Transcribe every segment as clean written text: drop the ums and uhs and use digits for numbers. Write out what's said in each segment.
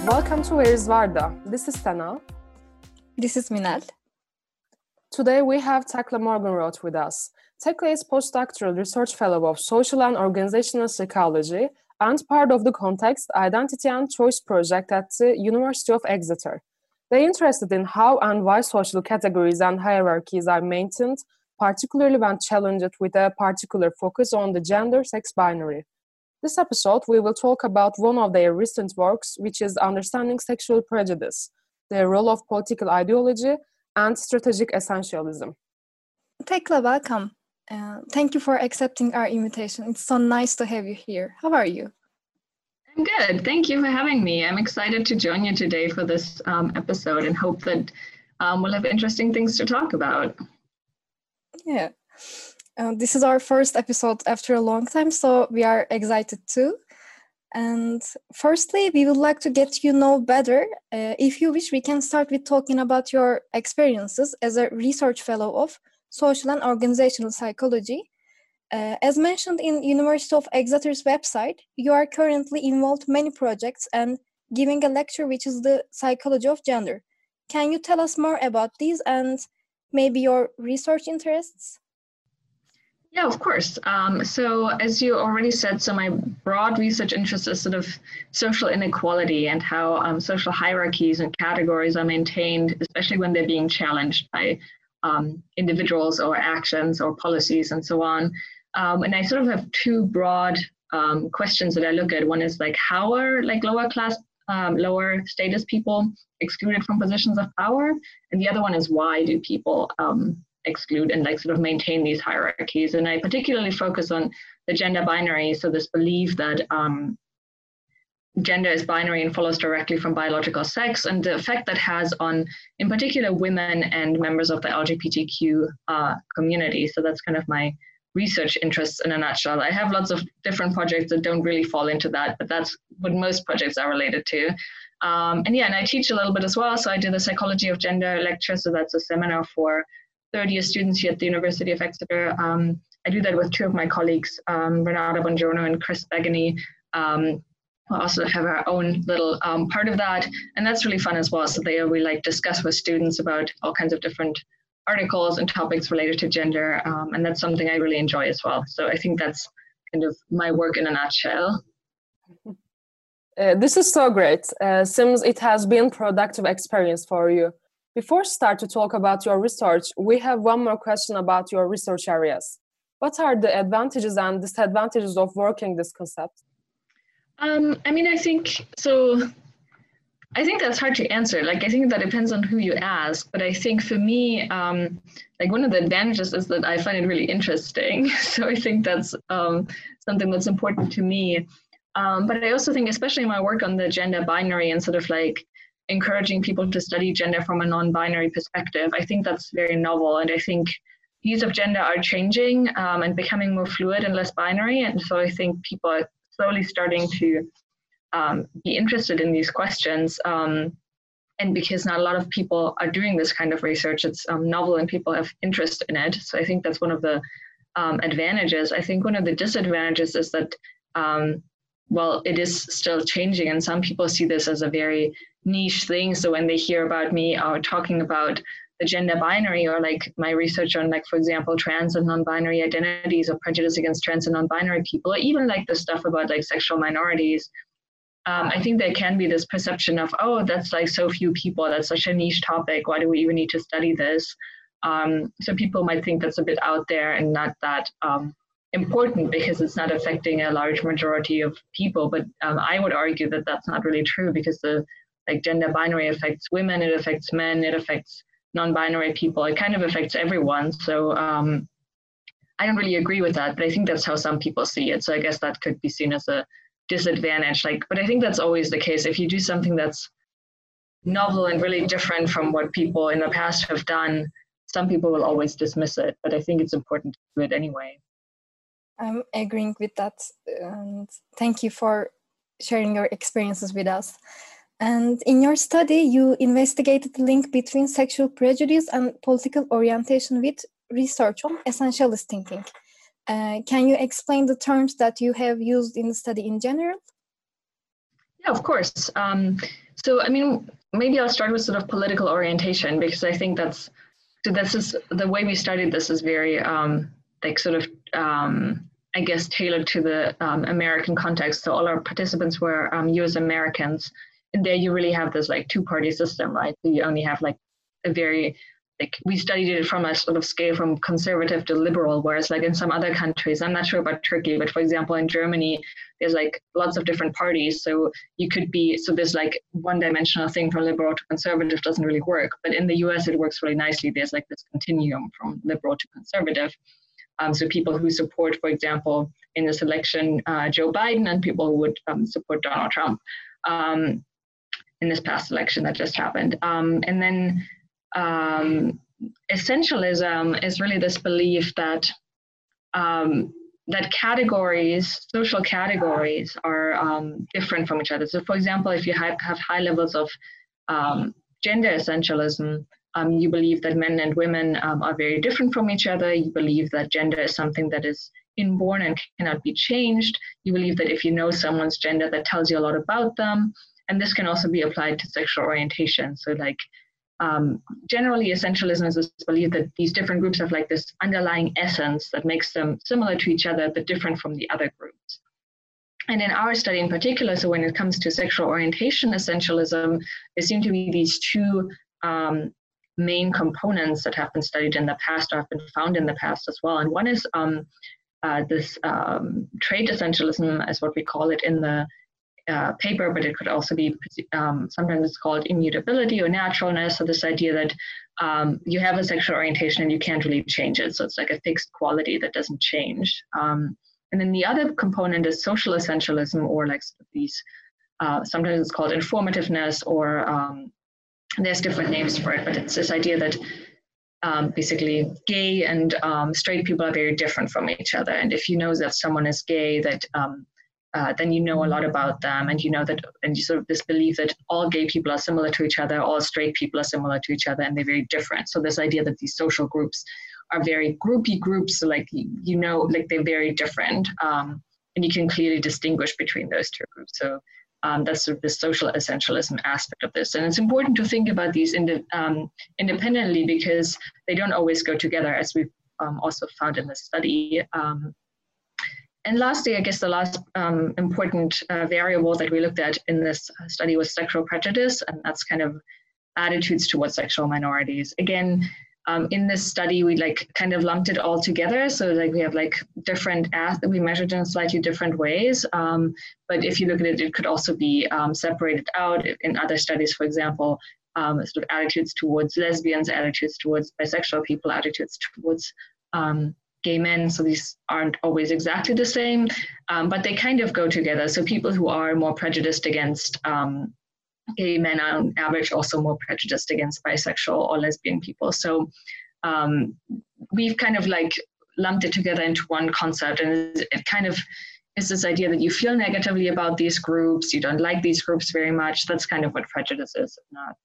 Welcome to Where is Varda? This is Sana. This is Minal. Today we have Tekla Morgenroth with us. Tekla is postdoctoral research fellow of social and organizational psychology and part of the Context, Identity and Choice project at the University of Exeter. They're interested in how and why social categories and hierarchies are maintained, particularly when challenged with a particular focus on the gender-sex binary. This episode, we will talk about one of their recent works, which is Understanding Sexual Prejudice, the role of political ideology and strategic essentialism. Tekla, welcome. Thank you for accepting our invitation. It's so nice to have you here. How are you? I'm good. Thank you for having me. I'm excited to join you today for this episode and hope that we'll have interesting things to talk about. Yeah. This is our first episode after a long time, so we are excited too. And firstly, we would like to get to know better. If you wish, we can start with talking about your experiences as a research fellow of social and organizational psychology. As mentioned in University of Exeter's website, you are currently involved in many projects and giving a lecture which is the psychology of gender. Can you tell us more about these and maybe your research interests? Yeah, of course. So as you already said, so my broad research interest is sort of social inequality and how social hierarchies and categories are maintained, especially when they're being challenged by individuals or actions or policies and so on. And I sort of have two broad questions that I look at. One is like, how are like lower class, lower status people excluded from positions of power? And the other one is, why do people exclude and like sort of maintain these hierarchies? And I particularly focus on the gender binary. So this belief that gender is binary and follows directly from biological sex, and the effect that has on, in particular, women and members of the LGBTQ community. So that's kind of my research interests in a nutshell. I have lots of different projects that don't really fall into that, but that's what most projects are related to. And I teach a little bit as well. So I did a psychology of gender lecture. So that's a seminar for third-year students here at the University of Exeter. I do that with two of my colleagues, Renata Bongiorno and Chris Begany. We also have our own little part of that, and that's really fun as well. So we like discuss with students about all kinds of different articles and topics related to gender, and that's something I really enjoy as well. So I think that's kind of my work in a nutshell. This is so great. Seems it has been productive experience for you. Before start to talk about your research, we have one more question about your research areas. What are the advantages and disadvantages of working this concept? I think that's hard to answer. Like, I think that depends on who you ask. But I think for me, like one of the advantages is that I find it really interesting. So I think that's something that's important to me. But I also think, especially in my work on the gender binary and sort of like encouraging people to study gender from a non-binary perspective, I think that's very novel. And I think views of gender are changing and becoming more fluid and less binary. And so I think people are slowly starting to be interested in these questions. And because not a lot of people are doing this kind of research, it's novel and people have interest in it. So I think that's one of the advantages. I think one of the disadvantages is that, it is still changing, and some people see this as a very niche thing. So when they hear about me talking about the gender binary, or like my research on, like, for example, trans and non-binary identities or prejudice against trans and non-binary people, or even like the stuff about like sexual minorities, I think there can be this perception of, oh, that's like so few people, that's such a niche topic, why do we even need to study this? So people might think that's a bit out there and not that important because it's not affecting a large majority of people. But I would argue that that's not really true, because the like gender binary affects women, it affects men, it affects non-binary people, it kind of affects everyone. So I don't really agree with that, but I think that's how some people see it. So I guess that could be seen as a disadvantage. But I think that's always the case. If you do something that's novel and really different from what people in the past have done, some people will always dismiss it. But I think it's important to do it anyway. I'm agreeing with that. And thank you for sharing your experiences with us. And in your study, you investigated the link between sexual prejudice and political orientation with research on essentialist thinking. Can you explain the terms that you have used in the study in general? Yeah, of course. So, I mean, maybe I'll start with sort of political orientation, because I think this is the way we studied this is very like sort of I guess tailored to the American context. So all our participants were US Americans, and there you really have this like two-party system, right? So you only have like a very we studied it from a sort of scale from conservative to liberal, whereas like in some other countries, I'm not sure about Turkey, but for example, in Germany, there's like lots of different parties. So you could be, so there's like one-dimensional thing from liberal to conservative doesn't really work. But in the US, it works really nicely. There's like this continuum from liberal to conservative. So people who support, for example, in this election, Joe Biden, and people who would support Donald Trump in this past election that just happened. And then essentialism is really this belief that that categories, social categories, are different from each other. So, for example, if you have high levels of gender essentialism, you believe that men and women are very different from each other. You believe that gender is something that is inborn and cannot be changed. You believe that if you know someone's gender, that tells you a lot about them. And this can also be applied to sexual orientation. So like generally essentialism is this belief that these different groups have like this underlying essence that makes them similar to each other, but different from the other groups. And in our study in particular, so when it comes to sexual orientation essentialism, there seem to be these two main components that have been studied in the past or have been found in the past as well. And one is this trait essentialism, as what we call it in the paper, but it could also be sometimes it's called immutability or naturalness. So this idea that you have a sexual orientation and you can't really change it. So it's like a fixed quality that doesn't change. And then the other component is social essentialism, or like sort of these, sometimes it's called informativeness, or there's different names for it, but it's this idea that basically gay and straight people are very different from each other. And if you know that someone is gay, that then you know a lot about them, and you know that, and you sort of this belief that all gay people are similar to each other, all straight people are similar to each other, and they're very different. So this idea that these social groups are very groupy groups, so like, you know, like they're very different, and you can clearly distinguish between those two groups. So that's sort of the social essentialism aspect of this. And it's important to think about these independently, because they don't always go together, as we've also found in the study. And lastly, I guess the last important variable that we looked at in this study was sexual prejudice, and that's kind of attitudes towards sexual minorities. Again, in this study, we like kind of lumped it all together. So like we have like different we measured in slightly different ways. But if you look at it, it could also be separated out in other studies, for example, sort of attitudes towards lesbians, attitudes towards bisexual people, attitudes towards gay men. So these aren't always exactly the same, but they kind of go together. So people who are more prejudiced against gay men are on average also more prejudiced against bisexual or lesbian people. So we've kind of like lumped it together into one concept, and it kind of is this idea that you feel negatively about these groups, you don't like these groups very much. That's kind of what prejudice is, not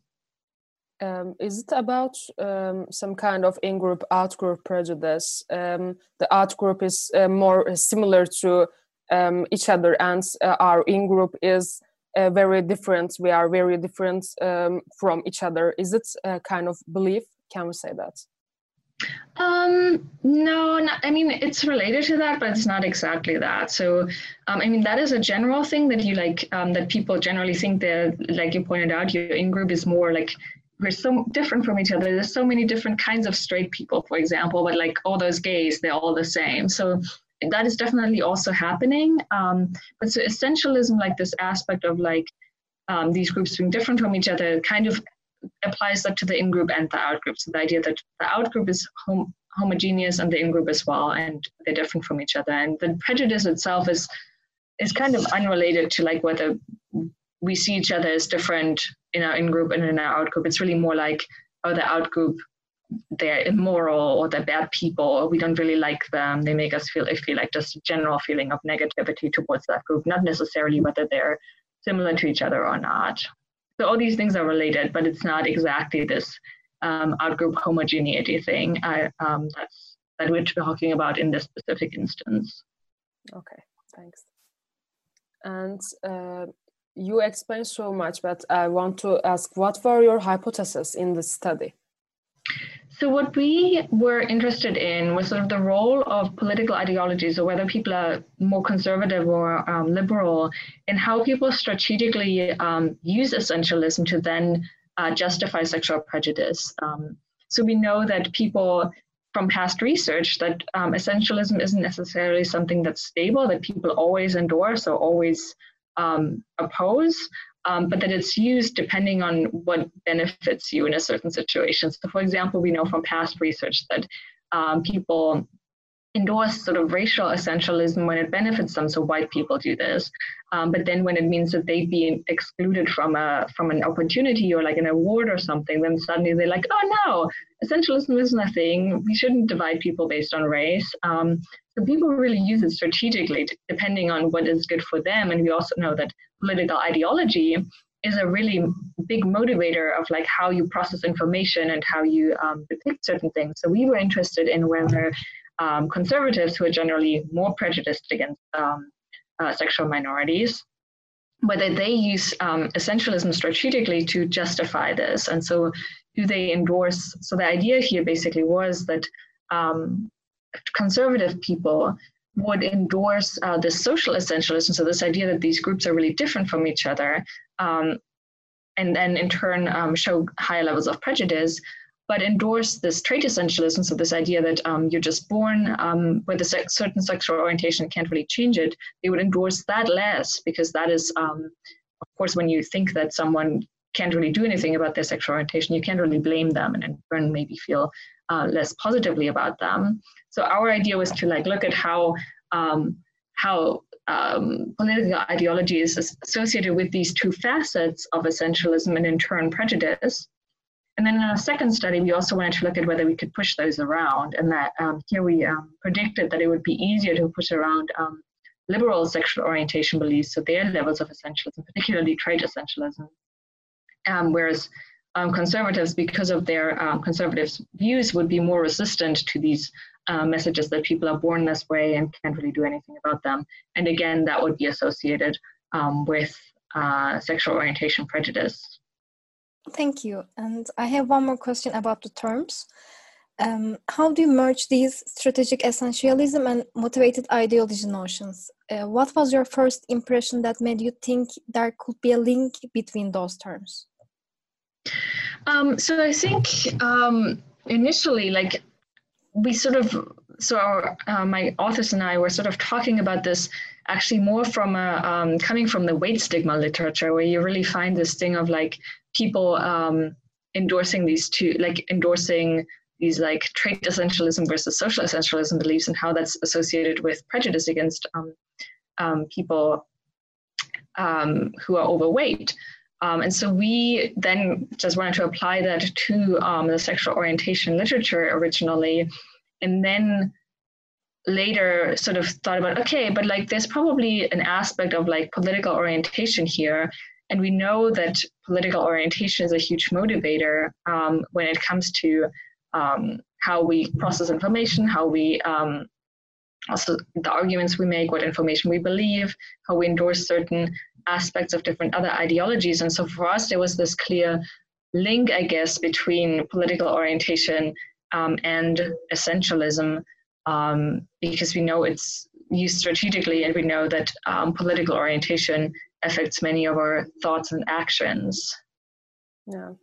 so. Is it about some kind of in-group, out-group prejudice? The out-group is more similar to each other, and our in-group is very different. We are very different from each other. Is it a kind of belief? Can we say that? No, I mean, it's related to that, but it's not exactly that. So, I mean, that is a general thing that you like, that people generally think that, like you pointed out, your in-group is more like, we're so different from each other. There's so many different kinds of straight people, for example, but like all those gays, they're all the same. So that is definitely also happening. But so essentialism, like this aspect of like these groups being different from each other, kind of applies that to the in-group and the out-group. So the idea that the out-group is homogeneous and the in-group as well, and they're different from each other. And the prejudice itself is kind of unrelated to like whether we see each other as different in our in-group and in our out-group. It's really more like, oh, the out-group, they're immoral or they're bad people, or we don't really like them. They make us feel like just a general feeling of negativity towards that group, not necessarily whether they're similar to each other or not. So all these things are related, but it's not exactly this out-group homogeneity thing that we're talking about in this specific instance. Okay, thanks. And You explained so much, but I want to ask, what were your hypotheses in the study? So what we were interested in was sort of the role of political ideologies, or whether people are more conservative or liberal, and how people strategically use essentialism to then justify sexual prejudice. So we know that people from past research that essentialism isn't necessarily something that's stable, that people always endorse or always oppose. But that it's used depending on what benefits you in a certain situation. So, for example, we know from past research that people endorse sort of racial essentialism when it benefits them. So white people do this, but then when it means that they'd be excluded from an opportunity or like an award or something, then suddenly they're like, oh no, essentialism is nothing. We shouldn't divide people based on race. So people really use it strategically, depending on what is good for them. And we also know that political ideology is a really big motivator of like how you process information and how you depict certain things. So we were interested in whether conservatives, who are generally more prejudiced against sexual minorities, whether they use essentialism strategically to justify this. And so do they endorse, so the idea here basically was that conservative people would endorse this social essentialism, so this idea that these groups are really different from each other, and then in turn show higher levels of prejudice, but endorse this trait essentialism, so this idea that you're just born with a certain sexual orientation, can't really change it. They would endorse that less, because that is, of course, when you think that someone can't really do anything about their sexual orientation, you can't really blame them and in turn maybe feel less positively about them. So our idea was to like look at how political ideology is associated with these two facets of essentialism and in turn prejudice. And then in a second study, we also wanted to look at whether we could push those around, and that here we predicted that it would be easier to push around liberal sexual orientation beliefs, so their levels of essentialism, particularly trait essentialism, whereas conservatives, because of their conservative views, would be more resistant to these messages that people are born this way and can't really do anything about them. And again, that would be associated with sexual orientation prejudice. Thank you. And I have one more question about the terms. How do you merge these strategic essentialism and motivated ideology notions? What was your first impression that made you think there could be a link between those terms? So I think initially, like we sort of, so my authors and I were sort of talking about this actually more from coming from the weight stigma literature, where you really find this thing of like people endorsing these two, like endorsing these like trait essentialism versus social essentialism beliefs, and how that's associated with prejudice against people who are overweight. And so we then just wanted to apply that to the sexual orientation literature originally, and then later sort of thought about, okay, but like there's probably an aspect of like political orientation here. And we know that political orientation is a huge motivator when it comes to how we process information, how we also the arguments we make, what information we believe, how we endorse certain aspects of different other ideologies. And so for us, there was this clear link, I guess, between political orientation and essentialism, because we know it's used strategically, and we know that political orientation affects many of our thoughts and actions. Yeah.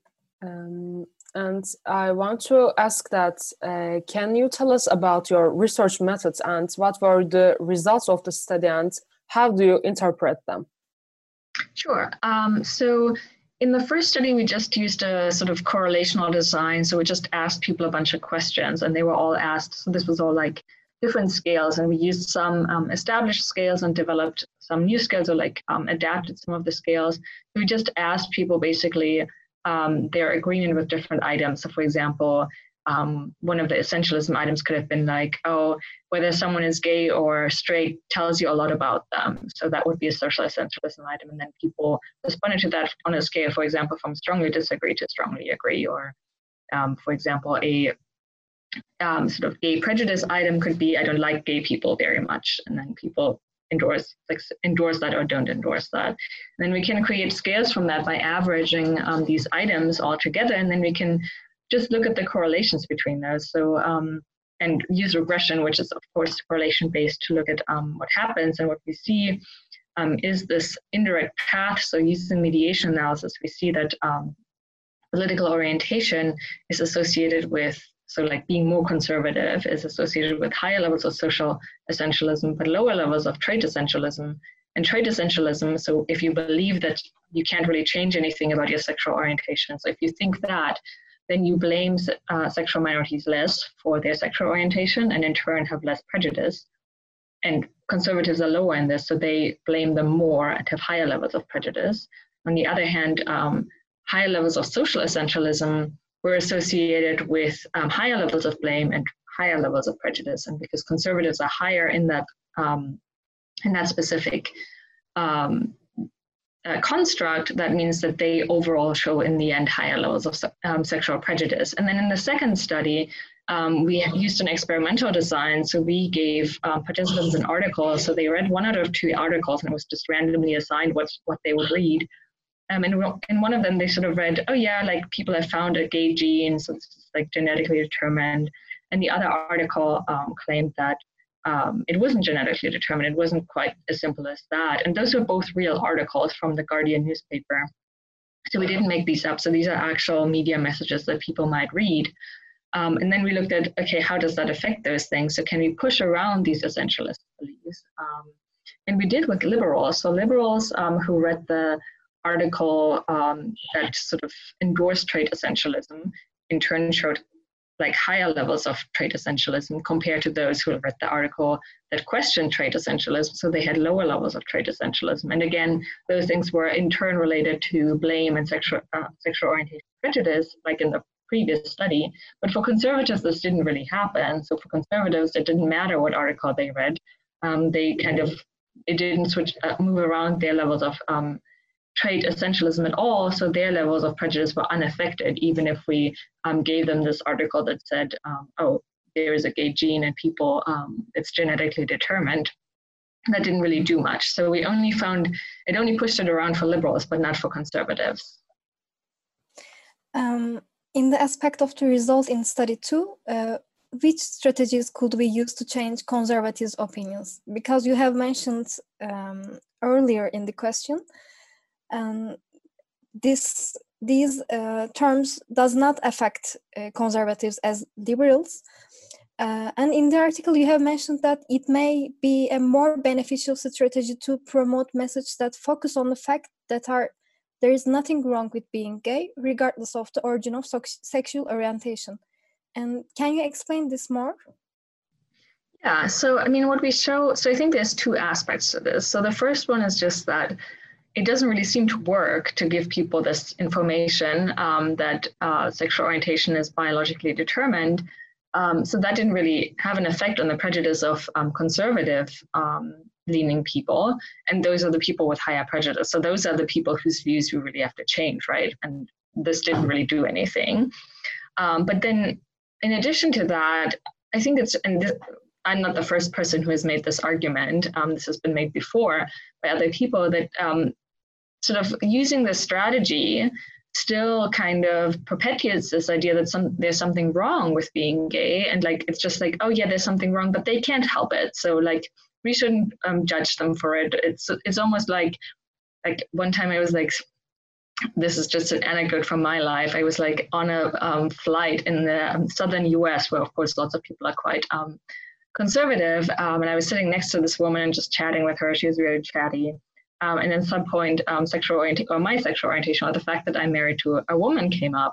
And I want to ask that, can you tell us about your research methods and what were the results of the study and how do you interpret them? Sure. So in the first study, we just used a sort of correlational design. So we just asked people a bunch of questions, and they were all asked. So this was all like different scales, and we used some established scales and developed some new scales, or like adapted some of the scales. We just asked people basically their agreement with different items. So for example, one of the essentialism items could have been like, oh, whether someone is gay or straight tells you a lot about them. So that would be a social essentialism item. And then people responded to that on a scale, for example, from strongly disagree to strongly agree. Or for example, a sort of gay prejudice item could be, I don't like gay people very much. And then people endorse that or don't endorse that. And then we can create scales from that by averaging these items all together, and then we can just look at the correlations between those. So and use regression, which is of course correlation based, to look at what happens. And what we see is this indirect path. So using mediation analysis, we see that political orientation is associated with, so like being more conservative is associated with higher levels of social essentialism, but lower levels of trait essentialism. And trait essentialism, so if you believe that you can't really change anything about your sexual orientation, so if you think that, then you blame sexual minorities less for their sexual orientation and in turn have less prejudice. And conservatives are lower in this, so they blame them more and have higher levels of prejudice. On the other hand, higher levels of social essentialism were associated with higher levels of blame and higher levels of prejudice. And because conservatives are higher in that specific construct, that means that they overall show in the end higher levels of sexual prejudice. And then in the second study, we used an experimental design. So we gave participants an article. So they read 1 out of 2 articles, and it was just randomly assigned what they would read. And in one of them, they sort of read, oh yeah, like people have found a gay gene, so it's like genetically determined. And the other article claimed that it wasn't genetically determined. It wasn't quite as simple as that. And those were both real articles from the Guardian newspaper. So we didn't make these up. So these are actual media messages that people might read. And then we looked at, okay, how does that affect those things? So can we push around these essentialist beliefs? And we did with liberals. So liberals who read the article that sort of endorsed trait essentialism in turn showed like higher levels of trait essentialism compared to those who read the article that questioned trait essentialism. So they had lower levels of trait essentialism. And again, those things were in turn related to blame and sexual orientation prejudice, like in the previous study. But for conservatives, this didn't really happen. So for conservatives, it didn't matter what article they read. It didn't move around their levels of trait essentialism at all, so their levels of prejudice were unaffected, even if we gave them this article that said, oh, there is a gay gene and people, it's genetically determined. That didn't really do much. So we only found, it only pushed it around for liberals, but not for conservatives. In the aspect of the result in study 2, which strategies could we use to change conservatives' opinions? Because you have mentioned earlier in the question, these terms does not affect conservatives as liberals. And in the article, you have mentioned that it may be a more beneficial strategy to promote messages that focus on the fact that there is nothing wrong with being gay, regardless of the origin of sexual orientation. And can you explain this more? Yeah, so I mean, what we show, so I think there's 2 aspects to this. So the first one is just that it doesn't really seem to work to give people this information that sexual orientation is biologically determined. So that didn't really have an effect on the prejudice of conservative leaning people. And those are the people with higher prejudice. So those are the people whose views we really have to change, right? And this didn't really do anything. But then in addition to that, I think I'm not the first person who has made this argument. This has been made before by other people, that sort of using this strategy still kind of perpetuates this idea that there's something wrong with being gay. And like, it's just like, oh yeah, there's something wrong, but they can't help it. So like, we shouldn't judge them for it. It's almost like one time I was like, this is just an anecdote from my life. I was like on a flight in the southern US, where of course lots of people are quite conservative, and I was sitting next to this woman and just chatting with her. She was very chatty, and at some point, my sexual orientation, or the fact that I'm married to a woman, came up,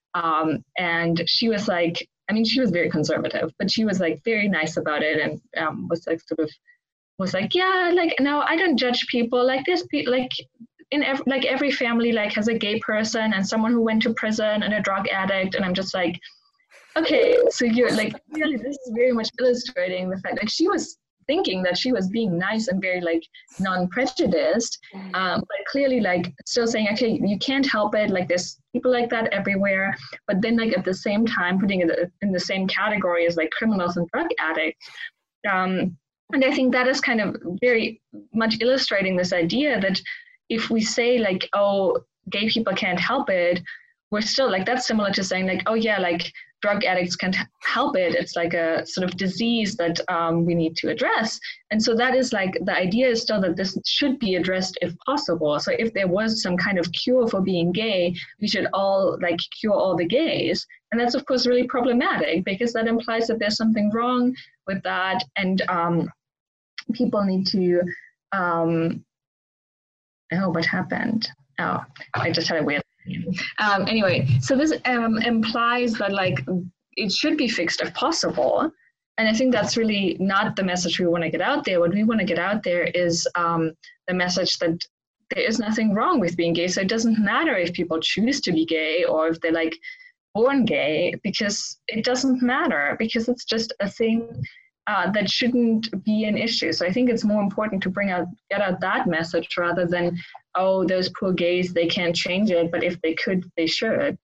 and she was like, I mean, she was very conservative, but she was like very nice about it, and was like, yeah, like, no, I don't judge people. Like this, like in every family like has a gay person and someone who went to prison and a drug addict, and I'm just like, okay, so you're like, really, this is very much illustrating the fact, like, she was thinking that she was being nice and very like non-prejudiced, but clearly like still saying, okay, you can't help it, like there's people like that everywhere, but then like at the same time putting it in the same category as like criminals and drug addicts. And I think that is kind of very much illustrating this idea that if we say like, oh, gay people can't help it, we're still like, that's similar to saying like, oh yeah, like drug addicts can't help it. It's like a sort of disease that we need to address. And so that is like, the idea is still that this should be addressed if possible. So if there was some kind of cure for being gay, we should all like cure all the gays. And that's of course really problematic because that implies that there's something wrong with that. And people need to, oh, what happened? Oh, I just had a weird anyway, so this implies that like it should be fixed if possible. And I think that's really not the message we want to get out there. What we want to get out there is the message that there is nothing wrong with being gay. So it doesn't matter if people choose to be gay or if they're like born gay, because it doesn't matter, because it's just a thing that shouldn't be an issue. So I think it's more important to get out that message rather than, oh, those poor gays, they can't change it, but if they could, they should.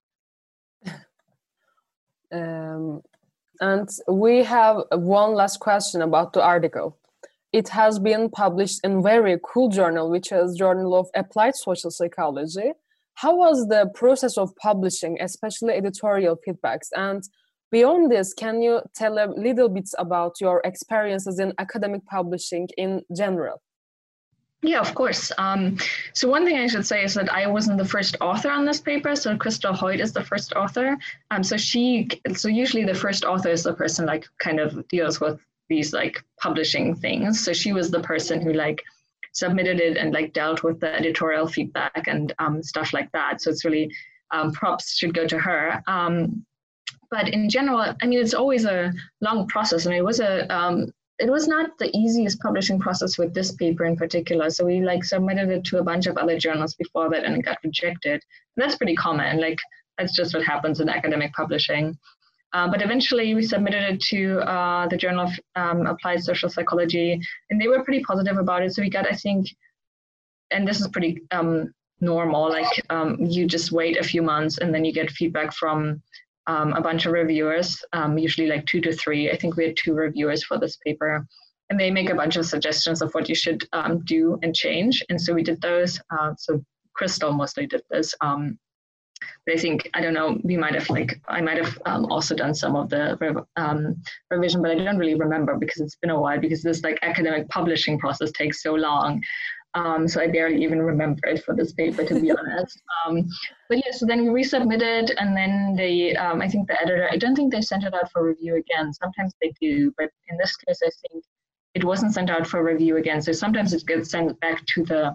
And we have one last question about the article. It has been published in very cool journal, which is Journal of Applied Social Psychology. How was the process of publishing, especially editorial feedbacks? And beyond this, can you tell a little bit about your experiences in academic publishing in general? Yeah, of course. So one thing I should say is that I wasn't the first author on this paper. So Christel Hoyt is the first author. So usually the first author is the person like kind of deals with these like publishing things. So she was the person who like submitted it and like dealt with the editorial feedback and stuff like that. So it's really props should go to her. But in general, I mean, it's always a long process. And it was not the easiest publishing process with this paper in particular. So we like submitted it to a bunch of other journals before that and it got rejected. And that's pretty common. Like that's just what happens in academic publishing. But eventually we submitted it to the Journal of Applied Social Psychology, and they were pretty positive about it. So we got, I think, and this is pretty normal, like you just wait a few months and then you get feedback from a bunch of reviewers, usually like 2 to 3. I think we had 2 reviewers for this paper, and they make a bunch of suggestions of what you should do and change. And so we did those. So Christel mostly did this. But I think, I don't know, I might have also done some of the revision, but I don't really remember because it's been a while, because this like academic publishing process takes so long. So I barely even remember it for this paper, to be honest. But yeah, so then we resubmitted, and then they, I think the editor, I don't think they sent it out for review again. Sometimes they do, but in this case, I think it wasn't sent out for review again. So sometimes it gets sent back to the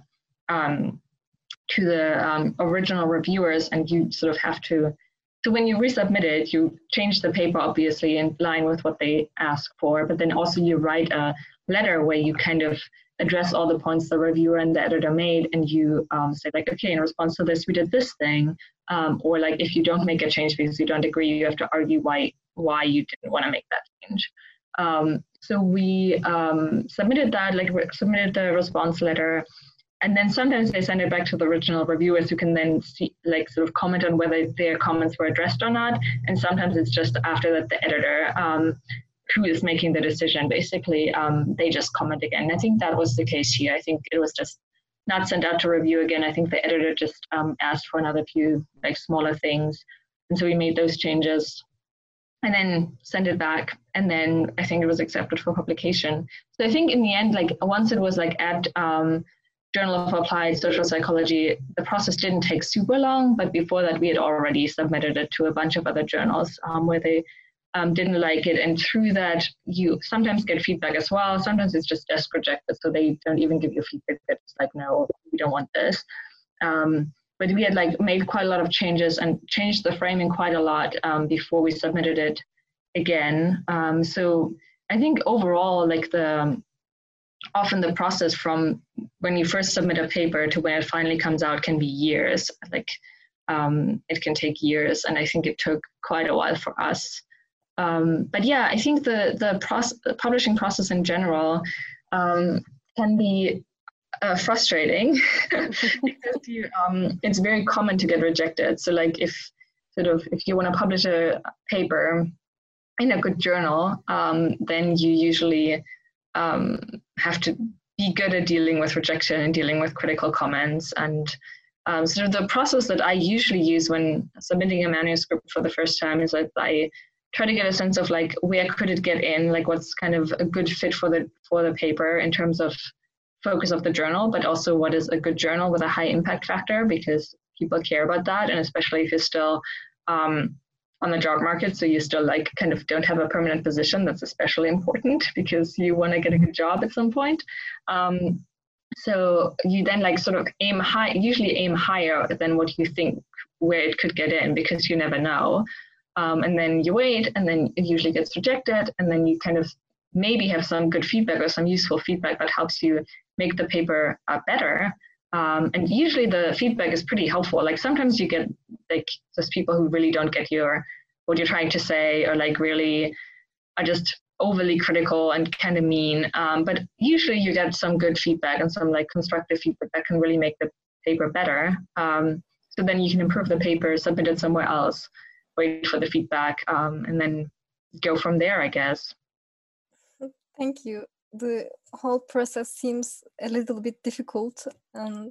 original reviewers, and you sort of have to, so when you resubmit it, you change the paper, obviously, in line with what they ask for, but then also you write a letter where you kind of address all the points the reviewer and the editor made, and you say like, okay, in response to this, we did this thing, or like if you don't make a change because you don't agree, you have to argue why you didn't want to make that change. So we submitted that, like submitted the response letter, and then sometimes they send it back to the original reviewers who can then see, like sort of comment on whether their comments were addressed or not. And sometimes it's just after that the editor who is making the decision, basically, they just comment again. I think that was the case here. I think it was just not sent out to review again. I think the editor just asked for another few like smaller things. And so we made those changes and then sent it back. And then I think it was accepted for publication. So I think in the end, like once it was like at Journal of Applied Social Psychology, the process didn't take super long, but before that we had already submitted it to a bunch of other journals where they didn't like it. And through that, you sometimes get feedback as well. Sometimes it's just desk rejected, so they don't even give you feedback. It's like, no, we don't want this. But we had like made quite a lot of changes and changed the framing quite a lot before we submitted it again. So I think overall, like often the process from when you first submit a paper to when it finally comes out can be years. Like it can take years, and I think it took quite a while for us. But yeah, I think the publishing process in general can be frustrating because it's very common to get rejected. So like if you want to publish a paper in a good journal, then you usually have to be good at dealing with rejection and dealing with critical comments. And sort of the process that I usually use when submitting a manuscript for the first time is that I try to get a sense of like, where could it get in, like what's kind of a good fit for the paper in terms of focus of the journal, but also what is a good journal with a high impact factor, because people care about that. And especially if you're still on the job market, so you still like kind of don't have a permanent position, that's especially important because you want to get a good job at some point. So you then like sort of usually aim higher than what you think where it could get in, because you never know. And then you wait, and then it usually gets rejected, and then you kind of maybe have some good feedback or some useful feedback that helps you make the paper better. And usually the feedback is pretty helpful. Like sometimes you get like just people who really don't get what you're trying to say, or like really are just overly critical and kind of mean. But usually you get some good feedback and some like constructive feedback that can really make the paper better. So then you can improve the paper, submit it somewhere else, wait for the feedback, and then go from there, I guess. Thank you. The whole process seems a little bit difficult, and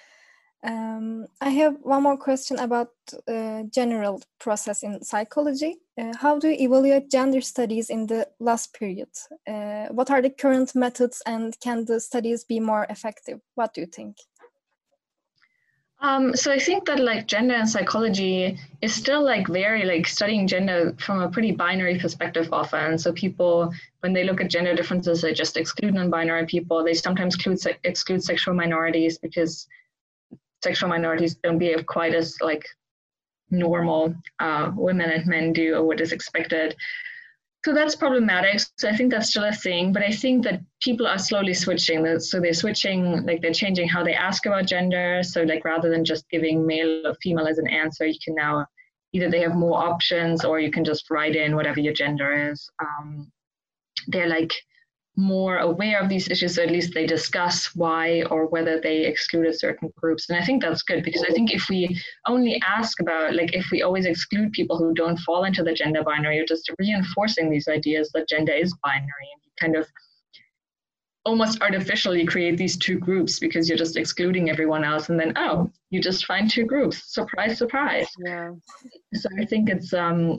I have one more question about general process in psychology. How do you evaluate gender studies in the last period? What are the current methods, and can the studies be more effective? What do you think? So I think that like gender and psychology is still like very like studying gender from a pretty binary perspective often. So people, when they look at gender differences, they just exclude non-binary people. They sometimes exclude sexual minorities because sexual minorities don't behave quite as like normal women and men do, or what is expected. So that's problematic. So I think that's still a thing, but I think that people are slowly switching. So they're switching, like they're changing how they ask about gender. So like rather than just giving male or female as an answer, you can now either they have more options, or you can just write in whatever your gender is. They're like more aware of these issues, so at least they discuss why or whether they excluded certain groups. And I think that's good, because I think if we only ask about, like if we always exclude people who don't fall into the gender binary, you're just reinforcing these ideas that gender is binary, and you kind of almost artificially create these two groups because you're just excluding everyone else, and then you just find two groups. Surprise, surprise. Yeah. So I think it's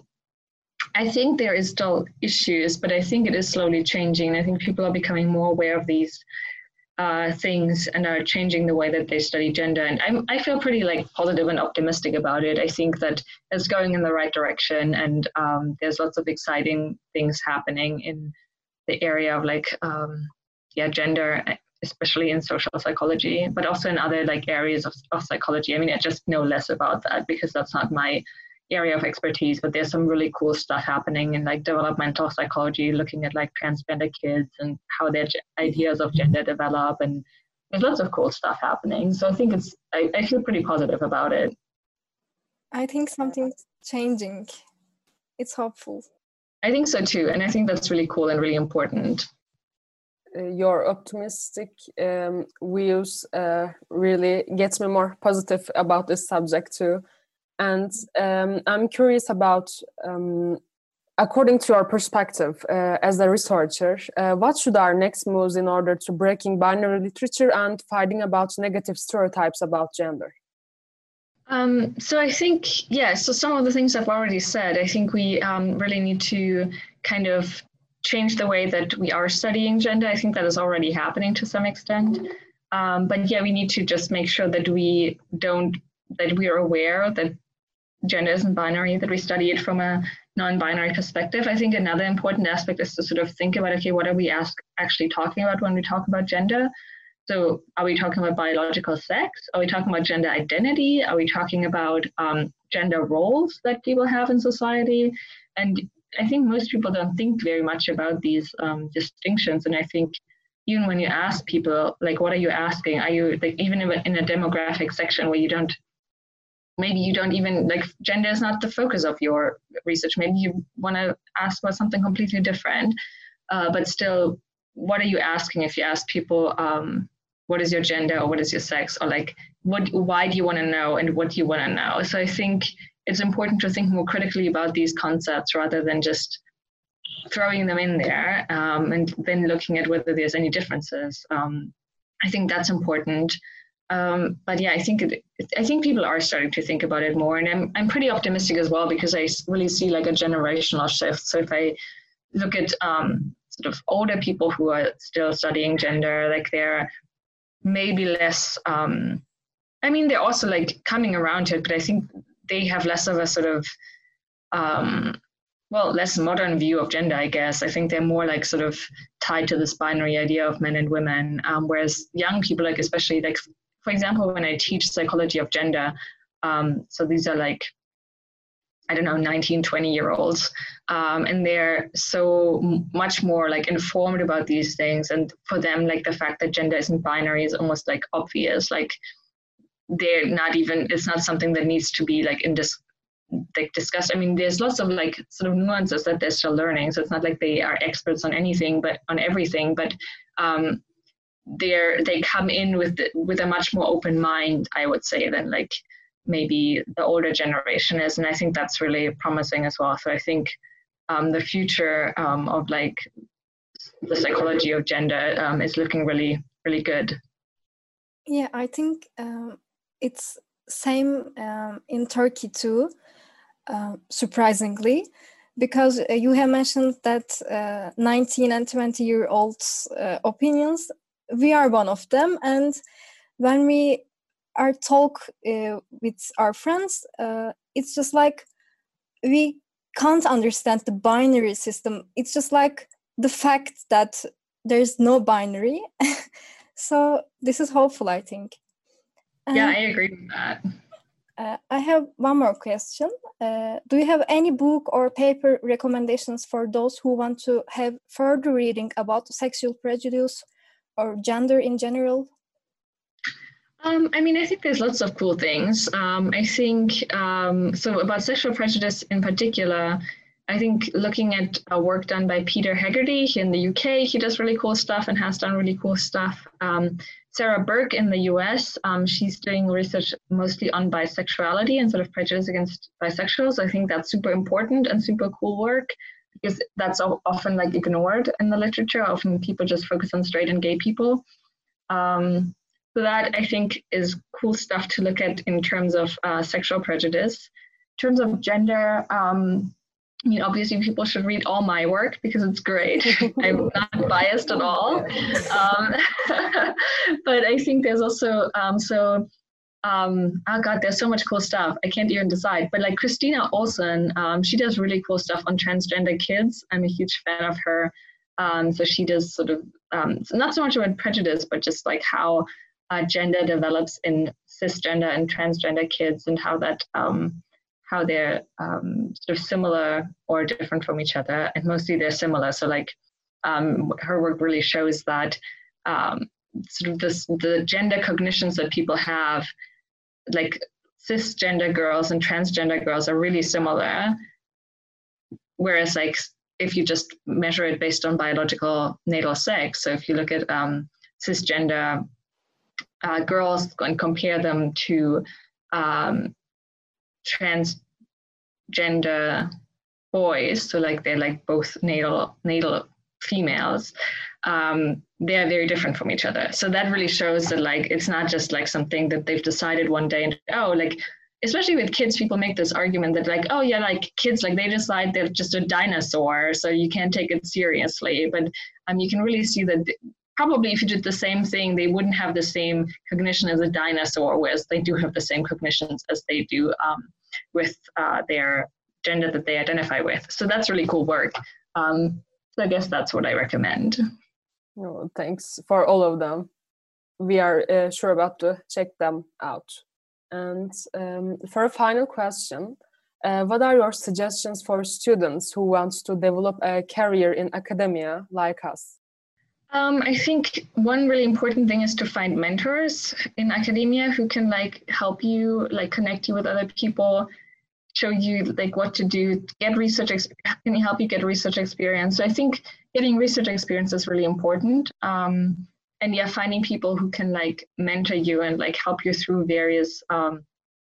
I think there is still issues, but I think it is slowly changing. I think people are becoming more aware of these things and are changing the way that they study gender. And I feel pretty like positive and optimistic about it. I think that it's going in the right direction, and there's lots of exciting things happening in the area of like, gender, especially in social psychology, but also in other like areas of psychology. I mean, I just know less about that because that's not my area of expertise, but there's some really cool stuff happening in like developmental psychology, looking at like transgender kids and how their ideas of gender develop, and there's lots of cool stuff happening. So I think I feel pretty positive about it. I think something's changing. It's hopeful. I think so too, and I think that's really cool and really important. Your optimistic views really gets me more positive about this subject too. And I'm curious about, according to your perspective as a researcher, what should our next moves in order to breaking binary literature and fighting about negative stereotypes about gender? So I think, so some of the things I've already said, I think we really need to kind of change the way that we are studying gender. I think that is already happening to some extent. But we need to just make sure that we are aware that gender isn't binary, that we study it from a non-binary perspective. I think another important aspect is to sort of think about, okay, what are we actually talking about when we talk about gender? So are we talking about biological sex? Are we talking about gender identity? Are we talking about gender roles that people have in society? And I think most people don't think very much about these distinctions. And I think even when you ask people, like, what are you asking? Are you like, even in a demographic section where maybe you don't even, like, gender is not the focus of your research. Maybe you want to ask about something completely different, but still, what are you asking if you ask people, what is your gender or what is your sex, or like, why do you want to know and what do you want to know? So I think it's important to think more critically about these concepts rather than just throwing them in there and then looking at whether there's any differences. I think that's important. But yeah, I think people are starting to think about it more, and I'm pretty optimistic as well, because I really see like a generational shift. So if I look at sort of older people who are still studying gender, like they're maybe less. I mean, they're also like coming around to it, but I think they have less of a sort of less modern view of gender, I guess. I think they're more like sort of tied to this binary idea of men and women, whereas young people, like especially like, for example, when I teach psychology of gender, so these are like, I don't know, 19, 20-year-olds, and they're so much more like informed about these things. And for them, like the fact that gender isn't binary is almost like obvious. Like they're not even, it's not something that needs to be like discussed. I mean, there's lots of like sort of nuances that they're still learning. So it's not like they are experts on anything, but on everything. But they come in with a much more open mind, I would say, than like maybe the older generation is. And I think that's really promising as well. So I think the future of like the psychology of gender is looking really, really good. Yeah, I think it's same in Turkey too, surprisingly, because you have mentioned that 19 and 20-year-olds opinions, we are one of them. And when we are talk with our friends, it's just like we can't understand the binary system. It's just like the fact that there's no binary. So this is hopeful, I think. Yeah, I agree with that. I have one more question. Do you have any book or paper recommendations for those who want to have further reading about sexual prejudice or gender in general? I mean, I think there's lots of cool things. I think, so about sexual prejudice in particular, I think looking at work done by Peter Hegarty here in the UK, he does really cool stuff and has done really cool stuff. Sarah Burke in the US, she's doing research mostly on bisexuality and sort of prejudice against bisexuals. I think that's super important and super cool work, because that's often like ignored in the literature. Often people just focus on straight and gay people. So that I think is cool stuff to look at in terms of sexual prejudice. In terms of gender, I mean, obviously people should read all my work because it's great. I'm not biased at all. But I think there's also, oh God, there's so much cool stuff. I can't even decide. But like Christina Olsen, she does really cool stuff on transgender kids. I'm a huge fan of her. So she does sort of, not so much about prejudice, but just like how gender develops in cisgender and transgender kids, and how that how they're sort of similar or different from each other, and mostly they're similar. So like her work really shows that sort of the gender cognitions that people have, like cisgender girls and transgender girls are really similar, whereas like if you just measure it based on biological natal sex, so if you look at cisgender girls and compare them to transgender boys, so like they're like both natal females, they're very different from each other. So that really shows that like it's not just like something that they've decided one day and like, especially with kids, people make this argument that like, oh yeah, like kids, like they decide they're just a dinosaur, so you can't take it seriously. But you can really see that probably if you did the same thing, they wouldn't have the same cognition as a dinosaur, whereas they do have the same cognitions as they do with their gender that they identify with. So that's really cool work. So I guess that's what I recommend. Oh, thanks for all of them. We are sure about to check them out. And for a final question, what are your suggestions for students who want to develop a career in academia like us? I think one really important thing is to find mentors in academia who can like help you, like connect you with other people, show you like what to do, get research, can help you get research experience. So I think getting research experience is really important. And yeah, finding people who can like mentor you and like help you through various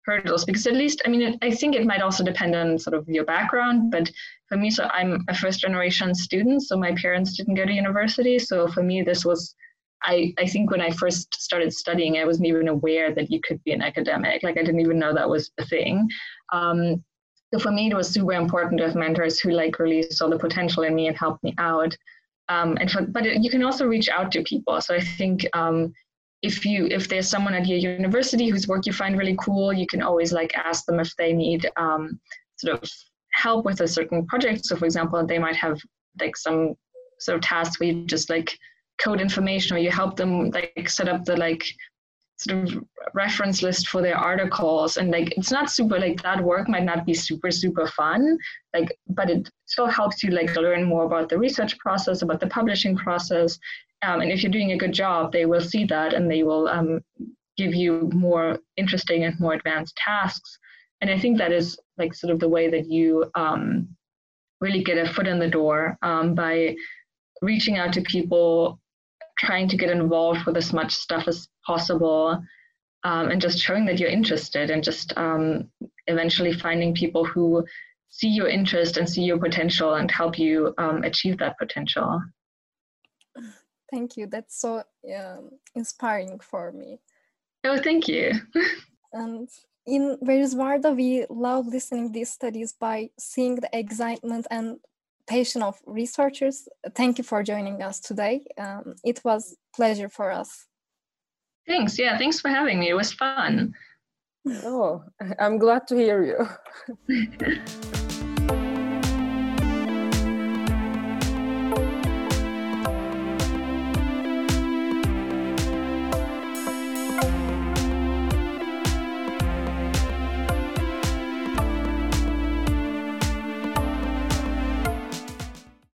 hurdles, because at least, I mean, I think it might also depend on sort of your background, but for me, so I'm a first generation student, so my parents didn't go to university. So for me, this was, I think when I first started studying, I wasn't even aware that you could be an academic. Like I didn't even know that was a thing. So for me, it was super important to have mentors who like really saw the potential in me and helped me out. But you can also reach out to people. So I think if there's someone at your university whose work you find really cool, you can always like ask them if they need sort of help with a certain project. So for example, they might have like some sort of tasks where you just like code information, or you help them like set up the like sort of reference list for their articles. And like it's not super, like that work might not be super fun, like, but it still helps you like learn more about the research process, about the publishing process. And if you're doing a good job, they will see that and they will give you more interesting and more advanced tasks. And I think that is like sort of the way that you really get a foot in the door by reaching out to people, trying to get involved with as much stuff as possible, and just showing that you're interested, and just eventually finding people who see your interest and see your potential and help you achieve that potential. Thank you. That's so inspiring for me. Oh, thank you. And in Where's Varda, we love listening these studies by seeing the excitement and passion of researchers. Thank you for joining us today. It was a pleasure for us. Thanks. Yeah, thanks for having me. It was fun. Oh, I'm glad to hear you.